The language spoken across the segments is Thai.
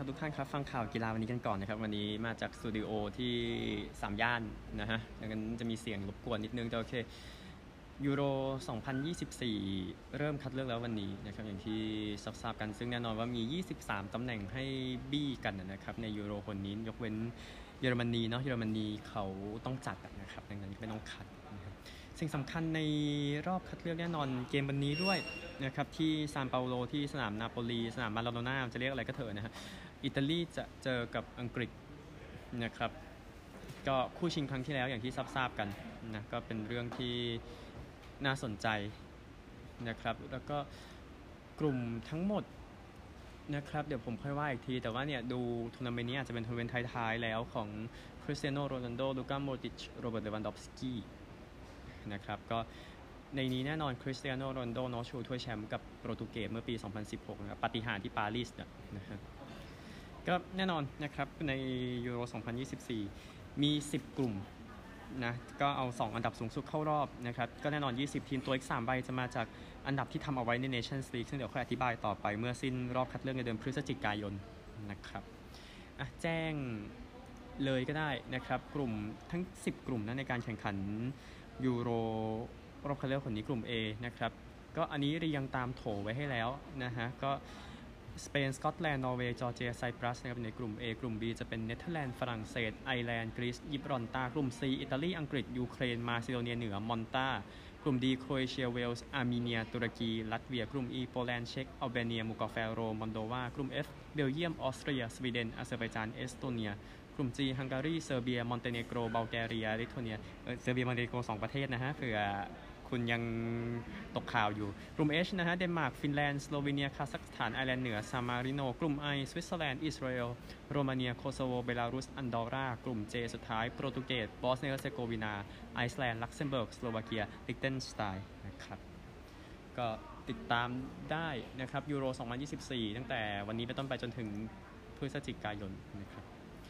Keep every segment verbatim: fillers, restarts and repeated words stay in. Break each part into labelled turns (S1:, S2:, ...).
S1: ทุกท่านครับฟังข่าวกีฬาวันนี้กันก่อนนะครับวันนี้มาจากสตูดิโอที่สามย่านนะฮะดังนั้นจะมีเสียงรบกวนนิดนึงแต่โอเคยูโรสองพันยี่สิบสี่เริ่มคัดเลือกแล้ววันนี้นะครับอย่างที่ทราบกันซึ่งแน่นอนว่ามียี่สิบสามตำแหน่งให้บี้กันนะครับในยูโรคนนี้ยกเว้นเยอรมนีเนาะเยอรมนีเขาต้องจัดนะครับดังนั้นไม่ต้องคัดนะครับสิ่งสำคัญในรอบคัดเลือกแน่นอนเกมวันนี้ด้วยนะครับที่ซานเปาโลที่สนามนาโปลีสนามมาราโดน่าจะเรียกอะไรก็เถอะนะฮะอิตาลีจะเจอกับอังกฤษนะครับก็คู่ชิงครั้งที่แล้วอย่างที่ทราบๆกันนะก็เป็นเรื่องที่น่าสนใจนะครับแล้วก็กลุ่มทั้งหมดนะครับเดี๋ยวผมค่อยว่าอีกทีแต่ว่าเนี่ยดูทัวร์นาเมนต์นี้อาจจะเป็นทัวร์นาเมนต์ท้ายๆแล้วของคริสเตียโนโรนัลโดลูก้าโมดริชโรเบิร์ตเลวันดอฟสกี้นะครับก็ในนี้แน่นอนคริสเตียโนโรนัลโดเนาะชูถ้วยแชมป์กับโปรตุเกสเมื่อปีสองพันสิบหกนะครับปาฏิหาริย์ที่ปารีสนะฮะก็แน่นอนนะครับในยูโรสองพันยี่สิบสี่มีสิบกลุ่มนะก็เอาสองอันดับสูงสุดเข้ารอบนะครับก็แน่นอนยี่สิบทีมตัวอีกสามใบจะมาจากอันดับที่ทำเอาไว้ใน Nations League ซึ่งเดี๋ยวค่อยอธิบายต่อไปเมื่อสิ้นรอบคัดเลือกในเดือนพฤศจิกายนนะครับอ่ะแจ้งเลยก็ได้นะครับกลุ่มทั้งสิบกลุ่มนะในการแข่งขันยูโรรอบคัดเลือกคนนี้กลุ่ม A นะครับก็อันนี้เรียงตามโถไว้ให้แล้วนะฮะก็สเปนสกอตแลนด์นอร์เวย์จอร์เจียไซปรัสนะครับในกลุ่ม A กลุ่ม B จะเป็นเนเธอร์แลนด์ฝรั่งเศสไอร์แลนด์กรีซยิบรอลตากลุ่ม C อิตาลีอังกฤษยูเครนมาซิโดเนียเหนือมอนตากลุ่ม D โครเอเชียเวลส์อาร์เมเนียตุรกีลัตเวียกลุ่ม E โปแลนด์เช็กอัลเบเนียมูกาเฟโรมอนโดวากลุ่ม F เบลเยียมออสเตรียสวีเดนอาเซอร์ไบจานเอสโตเนียกลุ่ม G ฮังการีเซอร์เบียมอนเตเนโกรบัลแกเรียลิทัวเนียเออเซอร์เบียมอนเตเนโกรสองประเทศนะฮะเผื่อคุณยังตกข่าวอยู่กลุ่ม H นะฮะเดนมาร์กฟินแลนด์สโลวีเนียคาซัคสถานไอร์แลนด์เหนือซามาริโนกลุ่ม I สวิตเซอร์แลนด์อิสราเอลโรมาเนียโคโซโวเบลารุสอันดอรากลุ่ม J สุดท้ายโปรตุเกสบอสเนียเฮอร์เซโกวีนาไอซ์แลนด์ลักเซมเบิร์กสโลวาเกียลิกเทนสไตน์นะครับก็ติดตามได้นะครับยูโรสองพันยี่สิบสี่ตั้งแต่วันนี้เป็นต้นไปจนถึงพฤศจิกายนนะครับ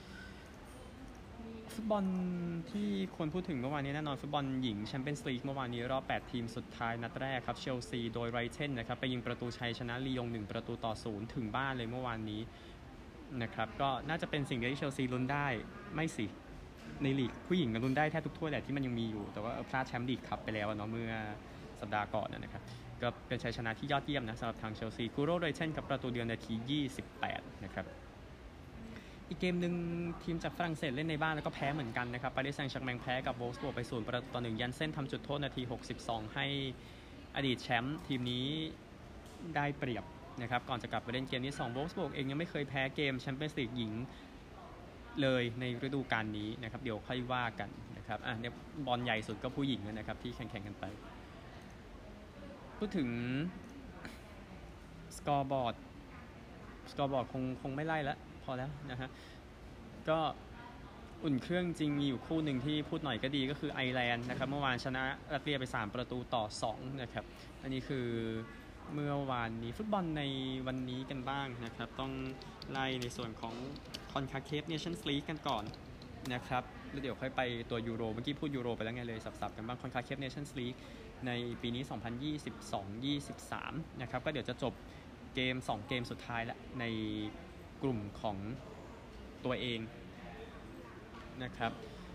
S1: ฟุตบอลที่คนพูดถึงเมื่อวานนี้แน่นอนฟุตบอลหญิงแชมเปี้ยนส์ลีกเมื่อวานนี้รอบแปดทีมสุดท้ายนัดแรกครับเชลซีโดยไรเชนนะครับไปยิงประตูชัยชนะลียงหนึ่งประตูต่อศูนย์ถึงบ้านเลยเมื่อวานนี้นะครับก็น่าจะเป็นสิ่งที่เชลซีลุ้นได้ไม่สิในลีกผู้หญิงก็ลุ้นได้แทบทุกถ้วยแหละที่มันยังมีอยู่แต่ว่าพลาดแชมป์ลีกครับไปแล้วเนาะเมื่อสัปดาห์ก่อนนะครับก็เป็นชัยชนะที่ยอดเยี่ยมนะสำหรับทางเชลซีคูโรไรเชนกับประตูเดียวนาทียี่สิบแปดนะครับอีกเกมหนึ่งทีมจากฝรั่งเศสเล่นในบ้านแล้วก็แพ้เหมือนกันนะครับปารีสแซงต์แชร์กแมงแพ้กับโวลฟสบวร์กไปศูนย์ประตูต่อหนึ่งยันเส้นทำจุดโทษนาทีหกสิบสองให้อดีตแชมป์ทีมนี้ได้เปรียบนะครับก่อนจะกลับไปเล่นเกมที่สองโวลฟสบวร์กเองยังไม่เคยแพ้เกมแชมเปี้ยนส์ลีกหญิงเลยในฤดูกาลนี้นะครับเดี๋ยวค่อยว่ากันนะครับอ่ะเนี่ยบอลใหญ่สุดก็ผู้หญิงนะครับที่แข่งๆกันไปพูดถึงสกอร์บอร์ดสกอร์บอร์ดคงคงไม่ไล่แล้วพอแล้วนะฮะก็อุ่นเครื่องจริงมีอยู่คู่หนึ่งที่พูดหน่อยก็ดีก็คือไอร์แลนด์นะครับเมื่อวานชนะรัสเซียไปสามประตูต่อสองนะครับอันนี้คือเมื่อวานนี้ฟุตบอลในวันนี้กันบ้างนะครับต้องไล่ในส่วนของคอนคาเคฟเนชั่นส์ลีกกันก่อนนะครับแล้วเดี๋ยวค่อยไปตัวยูโรเมื่อกี้พูดยูโรไปแล้วไงเลยสับๆกันบ้างคอนคาเคฟเนชั่นส์ลีกในปีนี้สองพันยี่สิบสอง ยี่สิบสามนะครับก็เดี๋ยวจะจบเกมสองเกมสุดท้ายละในกลุ่มของตัวเองนะครับ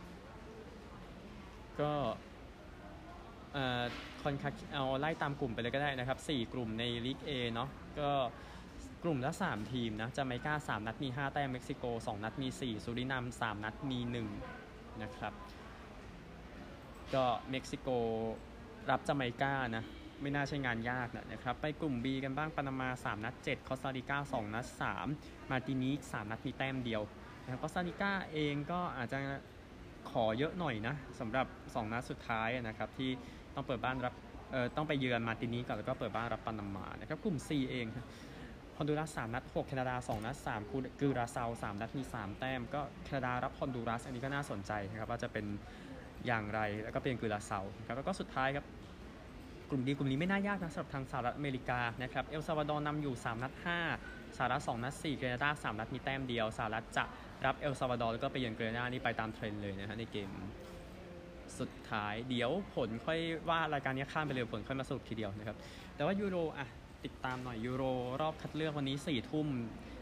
S1: ก็เอ่อคอนคาเอาไล่ตามกลุ่มไปเลยก็ได้นะครับสี่กลุ่มในลีก A เนาะก็กลุ่มละสามทีมนะจาเมกาสามนัดมีห้าแต้มเม็กซิโกสองนัดมีสี่สุรินัมสามนัดมีหนึ่งนะครับก็เม็กซิโกรับจาเมกานะไม่น่าใช่งานยากนะครับไปกลุ่ม B กันบ้างปานามาสามนัดเจ็ดคอสตาริกาสองนัดสามมาร์ตินิกสามนัดมีแต้มเดียวนะครับคอสตาริกาเองก็อาจจะขอเยอะหน่อยนะสำหรับสองนัดสุดท้ายนะครับที่ต้องเปิดบ้านรับเอ่อต้องไปเยือนมาร์ตินิกก่อนแล้วก็เปิดบ้านรับปานามานะครับกลุ่ม C เองฮอนดูรัสสามนัดหกแคนาดาสองนัดสามกูราเซาสามนัดมีสามแต้มก็แคนาดารับฮอนดูรัสอันนี้ก็น่าสนใจนะครับว่าจะเป็นอย่างไรแล้วก็เป็นกูราเซาครับแล้วก็สุดท้ายครับกลุ่มดีกลุ่มนี้ไม่น่ายากนะสำหรับทางสหรัฐอเมริกานะครับเอลซัลวาดอร์นำอยู่สามนัดห้าสหรัฐสองนัดสี่แคนาดาสามนัดมีแต้มเดียวสหรัฐจะรับเอลซัลวาดอร์แล้วก็ไปเยือนแคนาดานี่ไปตามเทรนด์เลยนะฮะในเกมสุดท้ายเดี๋ยวผลค่อยว่ารายการนี้ข้ามไปเลยผลค่อยมาสรุปทีเดียวนะครับแต่ว่ายูโรอ่ะติดตามหน่อยยูโรรอบคัดเลือกวันนี้สี่ทุ่ม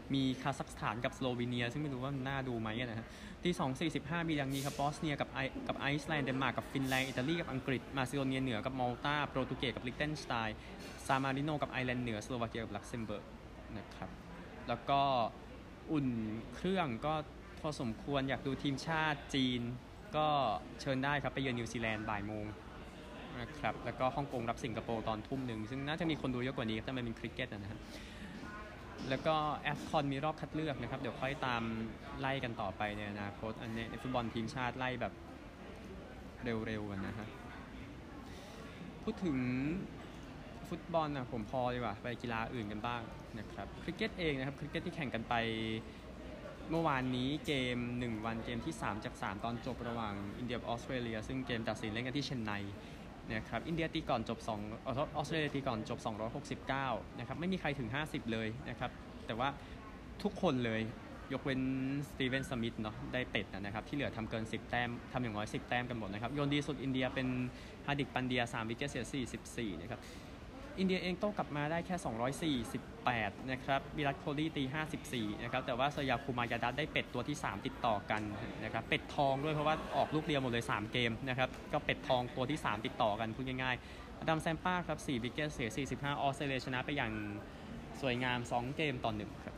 S1: มีคาซัคสถานกับสโลวีเนียซึ่งไม่รู้ว่ามันน่าดูไหมนะฮะตีสองสี่สิบห้ามีดังนี้ครับบอสเนียกับไอกับไอซ์แลนด์เดนมาร์กกับฟินแลนด์อิตาลีกับอังกฤษมาซิโดเนียเหนือกับมอลตาโปรตุเกสกับลิกเทนสไตน์ซามาริโนกับไอร์แลนด์เหนือสโลวาเกียกับลักเซมเบิร์กนะครับแล้วก็อุ่นเครื่องก็พอสมควรอยากดูทีมชาติจีนก็เชิญได้ครับไปเยือนนิวซีแลนด์บ่ายโมงนะครับแล้วก็ฮ่องกงรับสิงคโปร์ตอนทุ่มหนึ่งซึ่งน่าจะมีคนดูเยอะกว่านี้แต่มันเป็นคริกเก็ตนะครับแล้วก็แอฟคอนมีรอบคัดเลือกนะครับเดี๋ยวค่อยตามไล่กันต่อไปในอนาคตอันนี้ฟุตบอลทีมชาติไล่แบบเร็วๆกันนะฮะพูดถึงฟุตบอลนะผมพอดีกว่าไปกีฬาอื่นกันบ้างนะครับคริกเก็ตเองนะครับคริกเก็ตที่แข่งกันไปเมื่อวานนี้เกมหนึ่งวันเกมที่สามจากสามตอนจบระหว่างอินเดียกับออสเตรเลียซึ่งเกมตัดสินเล่นกันที่เชนไนนะครับอินเดียตีก่อนจบสองออสเตรเลียตีก่อนจบสองร้อยหกสิบเก้านะครับไม่มีใครถึงห้าสิบเลยนะครับแต่ว่าทุกคนเลยยกเว้นสตีเวนสมิธเนาะได้เป็ดนะครับที่เหลือทำเกินสิบแต้มทำอย่างน้อยสิบแต้มกันหมดนะครับโยนดีสุดอินเดียเป็นฮาร์ดิกปันเดียสามวิกเก็ตเสียสี่สิบสี่นะครับอินเดียเองโต้กลับมาได้แค่สองร้อยสี่สิบแปดนะครับวิรัตโคลีตีห้าสิบสี่นะครับแต่ว่าสยาคูมายาดัตได้เป็ดตัวที่สามติดต่อกันนะครับเป็ดทองด้วยเพราะว่าออกลูกเดียวหมดเลยสามเกมนะครับก็เป็ดทองตัวที่สามติดต่อกันพูดง่ายๆอดัมแซมป้าครับสี่วิกเก็ตเสียสี่สิบห้าออสเตรเลียชนะไปอย่างสวยงามสองเกมต่อหนึ่งครับ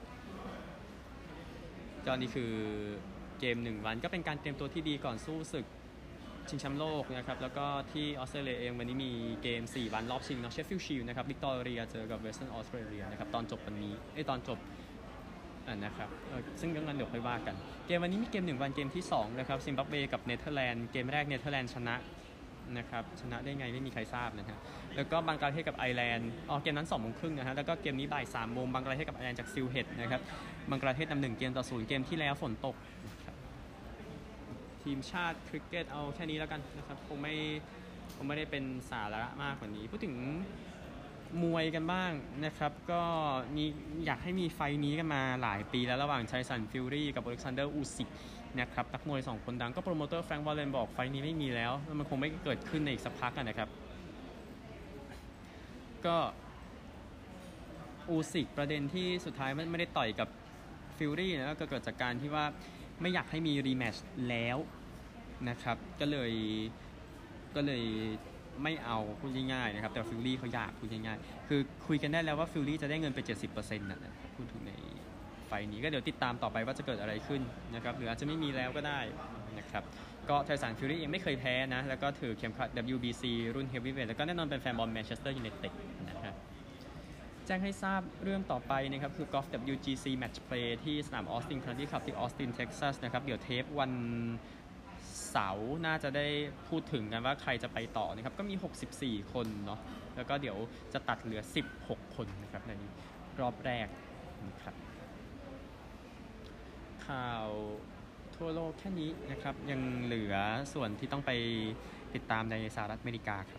S1: ก็นี่คือเกมหนึ่งวันก็เป็นการเตรียมตัวที่ดีก่อนสู้ศึกชิงแชมป์โลกนะครับแล้วก็ที่ออสเตรเลียเองวันนี้มีเกมสี่วันรอบชิงเนาะเชฟฟิลด์ชีลด์นะครับวิกตอเรียเจอกับเวสเทิร์นออสเตรเลียนะครับตอนจบวันนี้ไอ้ตอนจบอ่านะครับซึ่งเรื่องนั้นเดี๋ยวค่อยว่ากันเกมวันนี้มีเกมหนึ่งวันเกมที่สองนะครับซิมบับเวกับเนเธอร์แลนด์เกมแรกเนเธอร์แลนด์ชนะนะครับชนะได้ไงไม่มีใครทราบนะฮะแล้วก็บังกลาเทศกับไอร์แลนด์อ๋อเกมนั้นสองโมงครึ่งนะฮะแล้วก็เกมนี้บ่ายสามโมงบังกลาเทศกับไอร์แลนด์จากซิลเฮดนะครับบังกลาเทศนำหนึ่งเกมต่อศูนย์เกมที่แล้วฝนตกทีมชาติคริกเก็ตเอาแค่นี้แล้วกันนะครับคงไม่คงไม่ได้เป็นสาระมากกว่านี้พูดถึงมวยกันบ้างนะครับก็มีอยากให้มีไฟนี้กันมาหลายปีแล้วระหว่างไทสันฟิลลี่กับอเล็กซานเดอร์อูซิกนะครับนักมวยสองคนดังก็โปรโมเตอร์แฟรงค์วอลเลนบอกไฟนี้ไม่มีแล้วมันคงไม่เกิดขึ้นในอีกสักพักกันนะครับก็อูซิกประเด็นที่สุดท้ายไม่ได้ต่อยกับฟิลลี่นะก็เกิดจากการที่ว่าไม่อยากให้มีรีแมตช์แล้วนะครับก็เลยก็เลยไม่เอาพูดง่ายๆนะครับแต่ฟิลลี่เขาอยากพูดง่ายๆคือคุยกันได้แล้วว่าฟิลลี่จะได้เงินไป เจ็ดสิบเปอร์เซ็นต์ นะพูดถึงในไฟนี้ก็เดี๋ยวติดตามต่อไปว่าจะเกิดอะไรขึ้นนะครับหรืออาจจะไม่มีแล้วก็ได้นะครับก็ไทสันฟิลลี่ยังไม่เคยแพ้นะแล้วก็ถือเข็มขัด ดับเบิลยู บี ซี รุ่นเฮฟวีเวทแล้วก็แน่นอนเป็นแฟนบอลแมนเชสเตอร์ยูไนเต็ดนะครับแจ้งให้ทราบเรื่องต่อไปนะครับคือกอล์ฟ ดับเบิลยู จี ซี Match Play ที่สนามออสตินคันทรีคลับที่ออสตินเท็กซัสนะครับเดี๋ยวเทปวันเสาร์น่าจะได้พูดถึงกันว่าใครจะไปต่อนะครับก็มีหกสิบสี่คนเนาะแล้วก็เดี๋ยวจะตัดเหลือสิบหกคนนะครับในรอบแรกนะครับข่าวทั่วโลกแค่นี้นะครับยังเหลือส่วนที่ต้องไปติดตามในสหรัฐอเมริกาครับ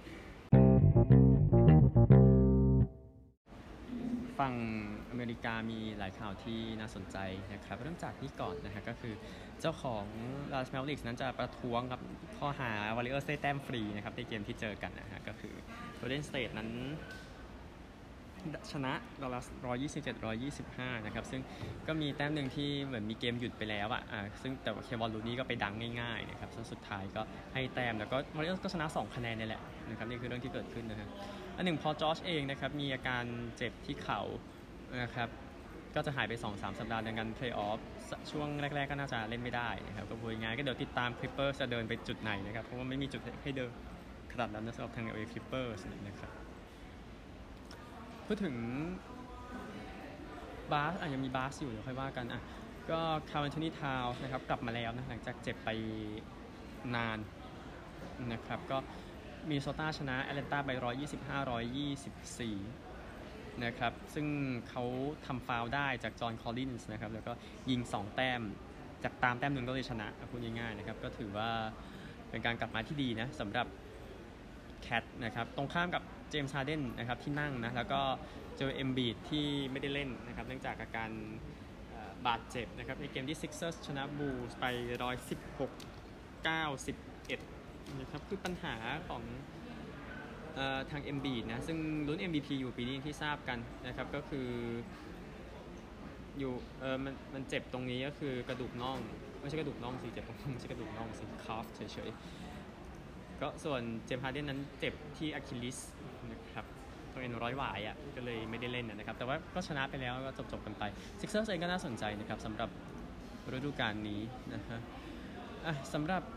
S1: ฝั่งอเมริกามีหลายข่าวที่น่าสนใจนะครับเริ่มจากนี้ก่อนนะฮะก็คือเจ้าของ Dallas Mavericks นั้นจะประท้วงครับข้อหา Warriors ได้แต้มฟรีนะครับในเกมที่เจอกันนะฮะก็คือ Golden State นั้นชนะ Dallas หนึ่งร้อยยี่สิบเจ็ด หนึ่งร้อยยี่สิบห้านะครับซึ่งก็มีแต้มหนึ่งที่เหมือนมีเกมหยุดไปแล้วอ่ะอ่าซึ่งแต่ว่าเควอนลูนี่ก็ไปดังง่ายๆนะครับซึ่งสุดท้ายก็ให้แต้มแล้วก็ Warriors ก็ชนะสองคะแนนนี่แหละนะครับนี่คือเรื่องที่เกิดขึ้นนะฮะอันหนึ่งพอจอร์จเองนะครับมีอาการเจ็บที่เข่านะครับก็จะหายไป สองถึงสาม สัปดาห์ดังนั้นเพลย์ออฟช่วงแรกๆก็น่าจะเล่นไม่ได้นะครับก็พูดง่ายก็เดี๋ยวติดตาม Clippers จะเดินไปจุดไหนนะครับเพราะว่าไม่มีจุดให้เดินขนาดนั้นสำหรับทาง แอล เอ Clippers นะครับพูดถึงบาสอ่ะยังมีบาสอยู่เดี๋ยวค่อยว่ากันอ่ะก็คาร์ล แอนโทนี ทาวส์นะครับกลับมาแล้วนะหลังจากเจ็บไปนานนะครับก็มินนิโซตาชนะแอตแลนตาไปหนึ่งร้อยยี่สิบห้า หนึ่งร้อยยี่สิบสี่นะครับซึ่งเขาทำฟาวล์ได้จากจอห์นคอลลินส์นะครับแล้วก็ยิงสองแต้มจากตามแต้มหนึ่งก็เลยชนะพูดง่ายๆนะครับก็ถือว่าเป็นการกลับมาที่ดีนะสำหรับแคทนะครับตรงข้ามกับเจมส์ฮาร์เดนนะครับที่นั่งนะแล้วก็เจอเอมบีดที่ไม่ได้เล่นนะครับเนื่องจากอาการบาดเจ็บนะครับในเกมที่ Sixers ชนะบูลส์ไปหนึ่งร้อยสิบหก เก้าสิบเอ็ดนะครับคือปัญหาของเอ่อทาง Embiid นะซึ่งลุ้น เอ็ม วี พี อยู่ปีนี้ที่ทราบกันนะครับก็คืออยู่เออมันมันเจ็บตรงนี้ก็คือกระดูกน่องไม่ใช่กระดูกน่องสิเจ็บตรงไม่ใช่กระดูกน่องสิคาฟเฉยๆก็ส่วนเจมส์ฮาร์เดนนั้นเจ็บที่อะคิลลิสนะครับตัวเอ็นร้อยหวายอ่ะก็เลยไม่ได้เล่นนะครับแต่ว่าก็ชนะไปแล้วก็จบๆกันไปซิกเซอร์เองก็น่าสนใจนะครับสำหรับฤดูกาลนี้นะฮะอ่ะสำหรับ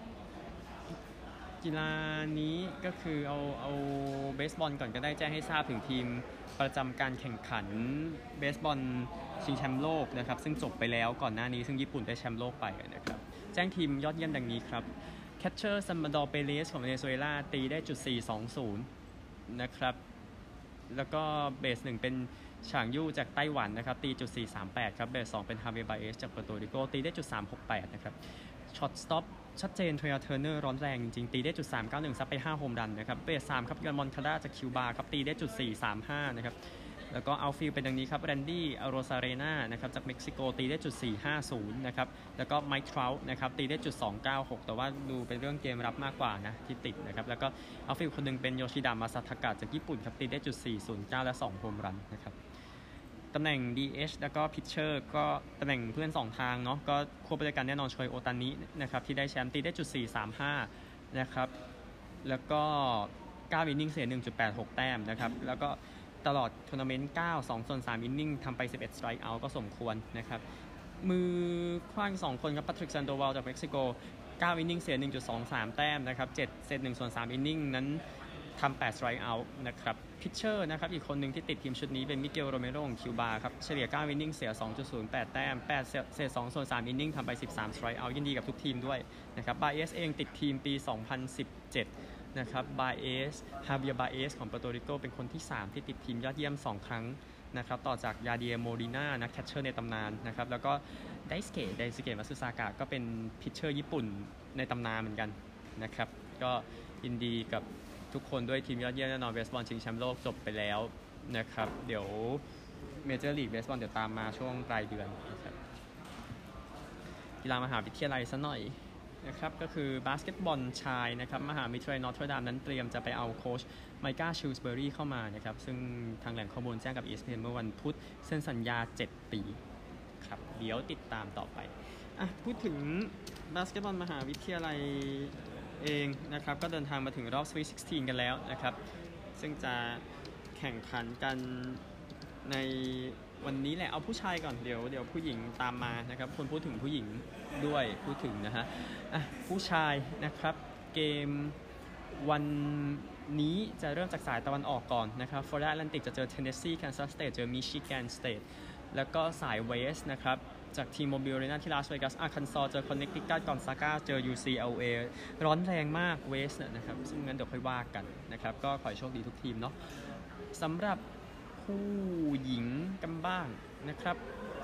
S1: กีฬานี้ก็คือเอาเอาเบสบอลก่อนก็ได้แจ้งให้ทราบถึงทีมประจำการแข่งขันเบสบอลชิงแชมป์โลกนะครับซึ่งจบไปแล้วก่อนหน้านี้ซึ่งญี่ปุ่นได้แชมป์โลกไปนะครับแจ้งทีมยอดเยี่ยมดังนี้ครับแคชเชอร์ซัมมาดอร์เปเรสของเวเนซุเอลาตีได้จุดสี่สองศูนย์นะครับแล้วก็เบสหนึ่งเป็นฉางยู่จากไต้หวันนะครับตีจุดสี่สามแปดครับเบสสองเป็นฮาเวบาเอสจากเปอร์โตริโกตีได้จุดสามหกแปดนะครับช็อตสต็อปชัดเจนเทรเทอร์เนอร์ร้อนแรงจริงๆตีได้จุดสามเก้าหนึ่งซับไปห้าโฮมรันนะครับเบสสามครับยอนมอนคาร่าจากคิวบาครับตีได้จุดสี่สามห้านะครับแล้วก็เอาฟิลเป็นดังนี้ครับแรนดี้อโรซาเรนานะครับจากเม็กซิโกตีได้จุดสี่ห้าศูนย์นะครับแล้วก็ไมค์ทราวท์นะครับตีได้จุดสองเก้าหกแต่ว่าดูเป็นเรื่องเกมรับมากกว่านะที่ติดนะครับแล้วก็เอาฟิลคนนึงเป็นโยชิดะมาซาทากะจากญี่ปุ่นครับตีได้จุดสี่ศูนย์เก้าและสองโฮมรันนะครับตำแหน่ง ดี เอช แล้วก็ Pitcher ก็ตำแหน่งเพื่อนสองทางเนาะก็ควบไปด้วยกันแน่นอนโชยโอตานินะครับที่ได้แชมป์ตีได้จุดสี่สามห้านะครับแล้วก็เก้าอินนิ่งเสีย หนึ่งจุดแปดหก แต้มนะครับแล้วก็ตลอดทัวร์นาเมนต์เก้า สองส่วนสามอินนิ่งทำไปสิบเอ็ดสไตรค์เอาท์ก็สมควรนะครับมือขว้างสองคนครับ Patrick Sandoval จากเม็กซิโกเก้าอินนิ่งเสีย หนึ่งจุดสองสาม แต้มนะครับเจ็ดเซตหนึ่งส่วนสามอินนิ่งนั้นทำแปดสไตรค์เอาท์นะครับพิชเชอร์นะครับอีกคนหนึ่งที่ติดทีมชุดนี้เป็นมิเกลโรเมโรของคิวบาครับเฉลี่ยเก้าอินนิ่งเสีย สองจุดศูนย์แปด แต้มแปดเศษสองส่วนสามอินนิ่งทำไปสิบสามสไตรค์เอาท์ยินดีกับทุกทีมด้วยนะครับบาเอสเองติดทีมปีสองพันสิบเจ็ดนะครับบาเอสฮาเบียบาเอสของเปอร์โตริโกเป็นคนที่สามที่ติดทีมยอดเยี่ยมสองครั้งนะครับต่อจากยาเดียโมดิน่านักแคชเชอร์ในตำนานนะครับแล้วก็ไดสเกะไดสเกะมัตสึซากะก็เป็นพิชเชอร์ญี่ปุ่นในตำนานเหมือนกันนะครับก็ยินดีกับทุกคนด้วยทีมยอดเยี่ยมแน่นอนเบสบอลชิงแชมป์โลกจบไปแล้วนะครับเดี๋ยวเมเจอร์ลีกเบสบอลเดี๋ยวตามมาช่วงปลายเดือนนะครับกีฬามหาวิทยาลัยซะหน่อยนะครับก็คือบาสเกตบอลชายนะครับมหาวิทยาลัยนอร์ทเทอร์ดัมนั้นเตรียมจะไปเอาโค้ชไมก้าชิลส์เบอรี่เข้ามานะครับซึ่งทางแหล่งข้อมูลแจ้งกับ อี เอส พี เอ็น เมื่อวันพุธเซ็นสัญญาเจ็ดปีครับเดี๋ยวติดตามต่อไปอ่ะพูดถึงบาสเกตบอลมหาวิทยาลัยเองนะครับก็เดินทางมาถึงรอบ Sweet สิบหก กันแล้วนะครับซึ่งจะแข่งขันกันในวันนี้แหละเอาผู้ชายก่อนเดี๋ยวเดี๋ยวผู้หญิงตามมานะครับคนพูดถึงผู้หญิงด้วยพูดถึงนะฮะอ่ะผู้ชายนะครับเกมวันนี้จะเริ่มจากสายตะวันออกก่อนนะครับฟลอริดาแอตแลนติกจะเจอเทนเนสซีแคนซัสสเตทเจอมิชิแกนสเตทแล้วก็สายเวสนะครับจากทีมโมบิลอารีนาที่ลาสเวกัสอาร์คันซอเจอคอนเนคติคัตกอนซาก้าเจอ ยู ซี แอล เอ ร้อนแรงมากเวสเนี่ยนะครับซึ่งงั้นเดี๋ยวค่อยว่ากันนะครับก็ขอให้โชคดีทุกทีมเนาะสำหรับผู้หญิงกันบ้างนะครับ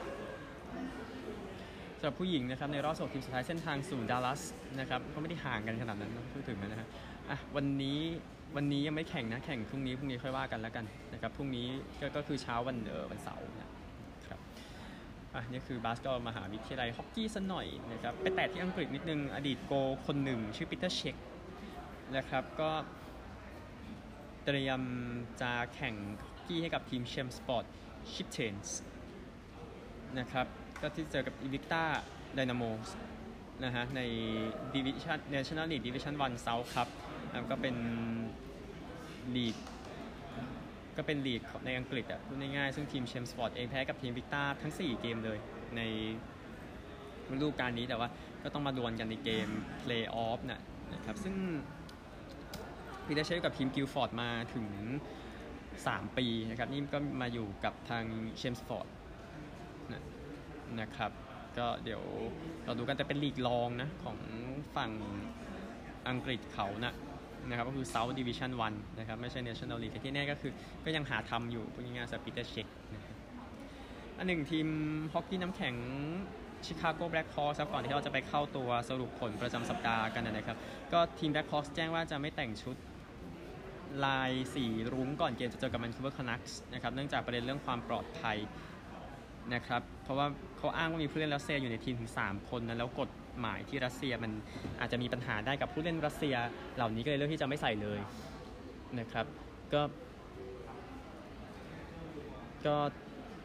S1: สำหรับผู้หญิงนะครับในรอบสิบทีมสุดท้ายเส้นทางสู่ดัลลัสนะครับก็ไม่ได้ห่างกันขนาดนั้นพูดถึงนะฮะอ่ะวันนี้วันนี้ยังไม่แข่งนะแข่งพรุ่งนี้พรุ่งนี้ค่อยว่ากันแล้วกันนะครับพรุ่งนี้ก็ก็คือเช้าวันเออวันเสาร์นะครับอ่ะนี่คือบาสเกตบอลมหาวิทยาลัยฮอกกี้ซะหน่อยนะครับไปแตะที่อังกฤษนิดนึงอดีตโกคนหนึ่งชื่อปีเตอร์เช็คนะครับก็เตรียมจะแข่งฮอกกี้ให้กับทีมเชมสปอร์ตชิปเชนส์นะครับก็ที่เจอกับอีวิกตาไดนาโมสนะฮะในดิวิชั่น National League Division วัน South ครับก็เป็นลีกก็เป็นลีกในอังกฤษอ่ะพูดง่ายๆซึ่งทีมเชมสปอร์ตเองแพ้กับทีมวิกตาทั้งสี่เกมเลยในฤดูกาลนี้แต่ว่าก็ต้องมาดวลกันในเกมเพลย์ออฟนะนะครับซึ่งพีเตอร์เชฟกับทีมกิลฟอร์ดมาถึงสามปีนะครับนี่ก็มาอยู่กับทางเชมสปอร์ตนะนะครับก็เดี๋ยวเราดูกันแต่เป็นลีกรองนะของฝั่งอังกฤษเขานะนะครับก็คือ South Division วันนะครับไม่ใช่ National League ที่แน่ก็คือก็ยังหาทำอยู่พูดง่ายๆสปีเตอร์เช็คนะครับอันหนึ่งทีมฮอกกี้น้ำแข็งชิคาโกแบล็คฮอร์สก่อนที่เราจะไปเข้าตัวสรุปผลประจำสัปดาห์กันนะครับก็ทีมแบล็คฮอร์สแจ้งว่าจะไม่แต่งชุดลายสีรุ้งก่อนเกมจะเจอกับแมนคูเวอร์คานักส์นะครับเนื่องจากประเด็นเรื่องความปลอดภัยนะครับเพราะว่าเขาอ้างว่ามีผู้เล่นรัสเซียอยู่ในทีมถึงสามคนนะแล้วกฎหมายที่รัสเซียมันอาจจะมีปัญหาได้กับผู้เล่นรัสเซียเหล่านี้ก็เลยเลือกที่จะไม่ใส่เลยนะครับก็ก็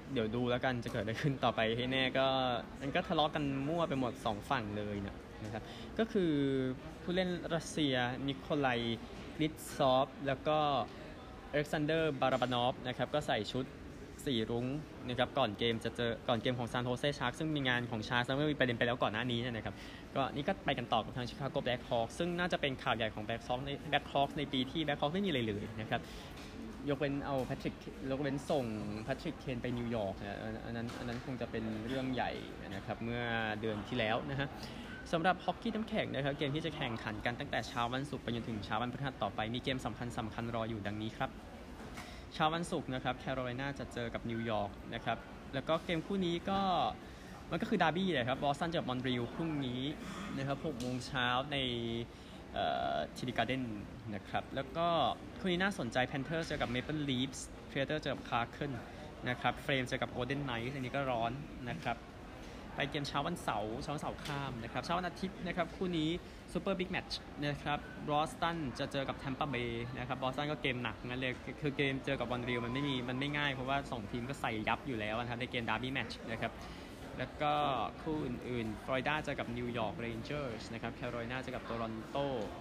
S1: เดี๋ยวดูแล้วกันจะเกิดอะไรขึ้นต่อไปให้แน่ก็มันก็ทะเลาะกันมั่วไปหมดสองฝั่งเลยนะนะครับก็คือผู้เล่นรัสเซียนิโคลัยลิตซอฟแล้วก็อเล็กซานเดอร์บาราบานอฟนะครับก็ใส่ชุดสีรุ้งนะครับก่อนเกมจะเจอก่อนเกมของซานโฮเซชาร์กซึ่งมีงานของชาร์กซึ่งมีประเด็นไปแล้วก่อนหน้านี้นะครับก็นี่ก็ไปกันต่อกับทางชิคาโกแบล็คฮอคซึ่งน่าจะเป็นข่าวใหญ่ของแบล็คฮอคในแบล็คฮอคในปีที่แบล็คฮอคไม่มีอะไรเลยนะครับยกเว้นเอาแพทริกยกเว้นส่งแพทริกเคนไปนิวยอร์กนะอันนั้นอันนั้นคงจะเป็นเรื่องใหญ่นะครับเมื่อเดือนที่แล้วนะฮะสำหรับฮอกกี้น้ำแข็งนะครับเกมที่จะแข่งขันกันตั้งแต่เช้าวันศุกร์ไปจนถึงเช้าวันพฤหัสต่อไปมีเกมสำคัญสำคัญรออยู่ดังนี้ครับเช้าวันศุกร์นะครับแคโรไลนาจะเจอกับนิวยอร์กนะครับแล้วก็เกมคู่นี้ก็มันก็คือดาร์บี้เลยครับบอสตันเจอมอนทรีออลพรุ่งนี้นะครับหกโมงเช้าในทีดีการ์เด้นนะครับแล้วก็คู่นี้น่าสนใจแพนเทอร์เจอกับเมเปิลลีฟส์เพรเตอร์เจอกับคาร์เคิลนะครับเฟรมเจอกับโกลเด้นไนท์อันนี้ก็ร้อนนะครับไปเกมเช้าวันเสาร์เช้าวันเสาร์ข้ามนะครับเช้าวันอาทิตย์นะครับคู่นี้ซูเปอร์บิ๊กแมตช์นะครับบอสตันจะเจอกับแทมปาเบย์นะครับบอสตันก็เกมหนักงั้นเลยคือเกมเจอกับมอนทรีออลมันไม่มีมันไม่ง่ายเพราะว่าสองทีมก็ใส่ยับอยู่แล้วนะครับในเกมดาร์บี้แมตช์นะครับแล้วก็คู่อื่นๆฟลอริดาเจอกับนิวยอร์กเรนเจอร์สนะครับแคโรไลนาเจอกับโตรอนโต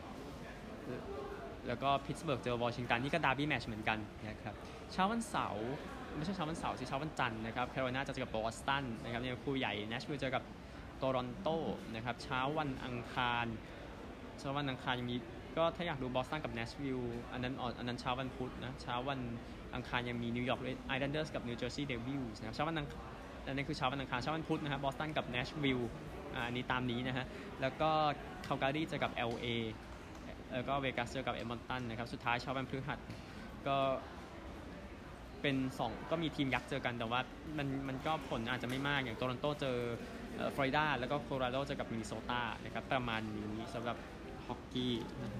S1: แล้วก็พิตต์สเบิร์กเจอวอชิงตันนี่ก็ดาร์บี้แมตช์เหมือนกันนะครับเช้าวันเสาร์ไม่ใช่เช้าวันเสาร์สิเช้าวันจันทร์นะครับแคโรไลนาจะเจอกับบอสตันนะครับนี่คู่ใหญ่เนชวิลล์เจอกับโตรอนโตนะครับเช้าวันอังคารเช้าวันอังคารยังมีก็ถ้าอยากดูบอสตันกับเนชวิลล์อันนั้นอันนั้นเช้าวันพุธนะเช้าวันอังคารยังมีนิวยอร์กไอแลนเดอร์สกับนิวเจอร์ซีย์เดวิลส์นะครับเช้าวันอังคารอันนี้คือเช้าวันอังคารเช้าวันพุธนะครับบอสตันกับเนชวิลล์อันนี้ตามนี้นะฮะแล้วก็คาลการีเจอกับ แอล เอแล้วก็เวกัสเจอกับเอดมอนตันนะครับสุดท้ายเช้าวันพฤหัสก็เป็นสองก็มีทีมยักษ์เจอกันแต่ว่ามันมันก็ผลอาจจะไม่มากอย่างโตรอนโตเจอฟลอริดาแล้วก็โคโลราโดเจอกับมินนิโซตานะครับประมาณนี้สำหรับฮอกกี้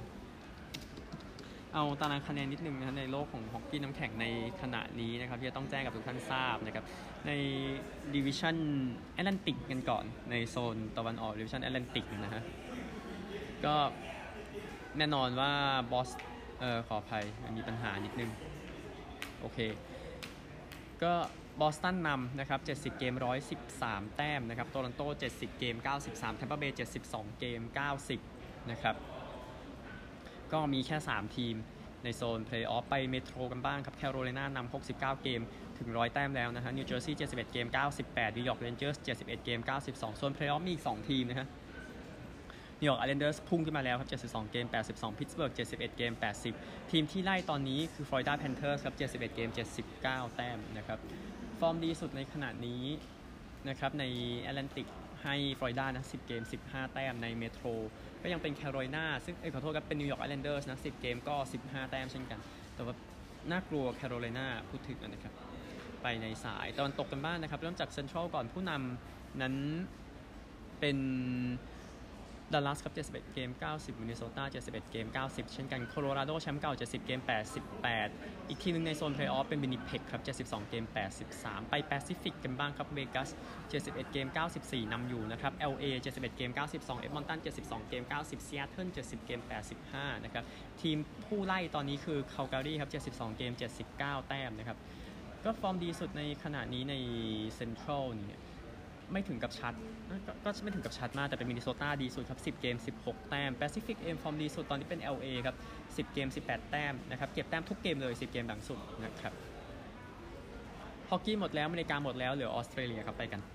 S1: เอาตารางคะแนนนิดนึงนะในโลกของฮอกกี้น้ำแข็งในขณะนี้นะครับที่จะต้องแจ้งกับทุกท่านทราบนะครับในดิวิชั่นแอตแลนติกกันก่อนในโซนตะวันออกดิวิชั่นแอตแลนติกนะฮะก็แน่นอนว่าบอสเอ่อขออภัยมีปัญหานิดนึงโอเคก็บอสตันนำนะครับเจ็ดสิบเกมหนึ่งร้อยสิบสามแต้มนะครับโตรอนโตเจ็ดสิบเกมเก้าสิบสามแทมปาเบย์เจ็ดสิบสองเกมเก้าสิบนะครับก็มีแค่สามทีมในโซนเพลย์ออฟไปเมโทรกันบ้างครับแคโรไลนานำหกสิบเก้าเกมถึงหนึ่งร้อยแต้มแล้วนะฮะนิวเจอร์ซีย์เจ็ดสิบเอ็ดเกมเก้าสิบแปดนิวยอร์กเรนเจอร์สเจ็ดสิบเอ็ดเกมเก้าสิบสองโซนเพลย์ออฟมีอีกสองทีมนะฮะนิวยอร์กไอแลนเดอร์สพุ่งขึ้นมาแล้วครับเจ็ดสิบสองเกมแปดสิบสองพิตต์สเบิร์กเจ็ดสิบเอ็ดเกมแปดสิบทีมที่ไล่ตอนนี้คือฟลอริดาแพนเทอร์สครับเจ็ดสิบเอ็ดเกมเจ็ดสิบเก้าแต้มนะครับฟอร์มดีสุดในขณะนี้นะครับในแอตแลนติกให้ฟลอริดานะสิบเกมสิบห้าแต้มในเมโทรก็ยังเป็นแคโรไลนาซึ่งเอ้ยขอโทษครับเป็นนิวยอร์กไอแลนเดอร์สนะสิบเกมก็สิบห้าแต้มเช่นกันแต่ว่าน่ากลัวแคโรไลนาพูดถึงนะครับไปในสายตะวันตกกันบ้างนะครับเริ่มจากเซ็นทรัลก่อนผู้นำนั้นเป็นดัลลัสครับเจ็ดสิบเอ็ดเกมเก้าสิบมินนิโซตาเจ็ดสิบเอ็ดเกมเก้าสิบเช่นกันโคโลราโดแชมป์เก่าเจ็ดสิบเกมแปดสิบแปดอีกทีนึงในโซนเพลย์ออฟเป็นวินนิเพกครับเจ็ดสิบสองเกมแปดสิบสามไปแปซิฟิกกันบ้างครับเวกัสเจ็ดสิบเอ็ดเกมเก้าสิบสี่นำอยู่นะครับ แอล เอ เจ็ดสิบเอ็ดเกมเก้าสิบสองเอดมอนตันเจ็ดสิบสองเกมเก้าสิบซีแอตเทิลเจ็ดสิบเกมแปดสิบห้านะครับทีมผู้ไล่ตอนนี้คือคาลการีครับเจ็ดสิบสองเกมเจ็ดสิบเก้าแต้มนะครับก็ฟอร์มดีสุดในขณะนี้ในเซ็นทรัลนี่ไม่ถึงกับชัดก็ไม่ถึงกับชัดมากแต่เป็นมินนิโซตาดีสุดครับสิบเกมสิบหกแต้มแปซิฟิกเอ็มฟอร์มดีสุดตอนนี้เป็น แอล เอ ครับสิบเกมสิบแปดแต้มนะครับเก็บแต้มทุกเกมเลยสิบเกมหลังสุดนะครับฮอกกี้หมดแล้วอเมริกาหมดแล้วเหลือออสเตรเลียครับไปกัน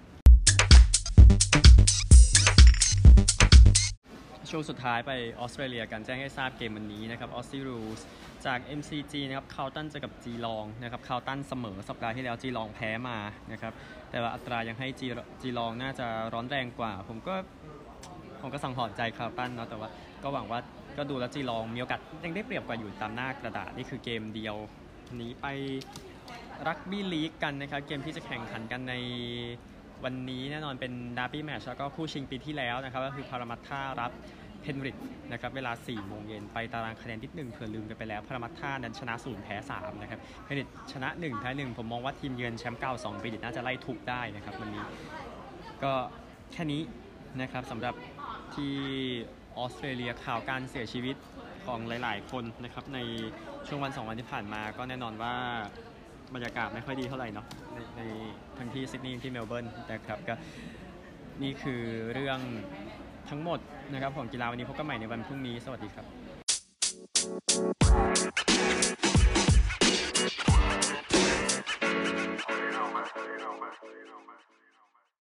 S1: ช่วงสุดท้ายไปออสเตรเลียกันแจ้งให้ทราบเกมวันนี้นะครับออสซี่รูสจาก เอ็ม ซี จี นะครับคาลตันเจอกับจีลองนะครับคาลตันเสมอสัปดาห์ที่แล้วจีลองแพ้มานะครับแต่ว่าอัตรายังให้จีจีลองน่าจะร้อนแรงกว่าผมก็ผมก็สังหรณ์ใจคาลตันเนาะแต่ว่าก็หวังว่าก็ดูแล้วจีลองมีโอกาสยังได้เปรียบกว่าอยู่ตามหน้ากระดาษนี่คือเกมเดียวนี้ไปรักบี้ลีกกันนะครับเกมที่จะแข่งขันกันในวันนี้แน่นอนเป็นดาร์บี้แมตช์แล้วก็คู่ชิงปีที่แล้วนะครับก็คือพารามัตถารับเพนริดนะครับเวลาสี่โมงเย็นไปตารางคะแนนนิดหนึ่งเผื่อลืมกันไปแล้วพารามัตถานั้นชนะศูนย์แพ้สามนะครับเพนริดชนะหนึ่งแพ้หนึ่งผมมองว่าทีมเยือนแชมป์เก่าสองปีน่าจะไล่ทุบได้นะครับวันนี้ก็แค่นี้นะครับสำหรับที่ออสเตรเลียข่าวการเสียชีวิตของหลายๆคนนะครับในช่วงวันสองวันที่ผ่านมาก็แน่นอนว่าบรรยากาศไม่ค่อยดีเท่าไหร่เนาะในในทั้งที่ซิดนีย์ที่เมลเบิร์นนะครับก็นี่คือเรื่องทั้งหมดนะครับของกีฬาวันนี้พบกันใหม่ในวันพรุ่งนี้สวัสดีครับ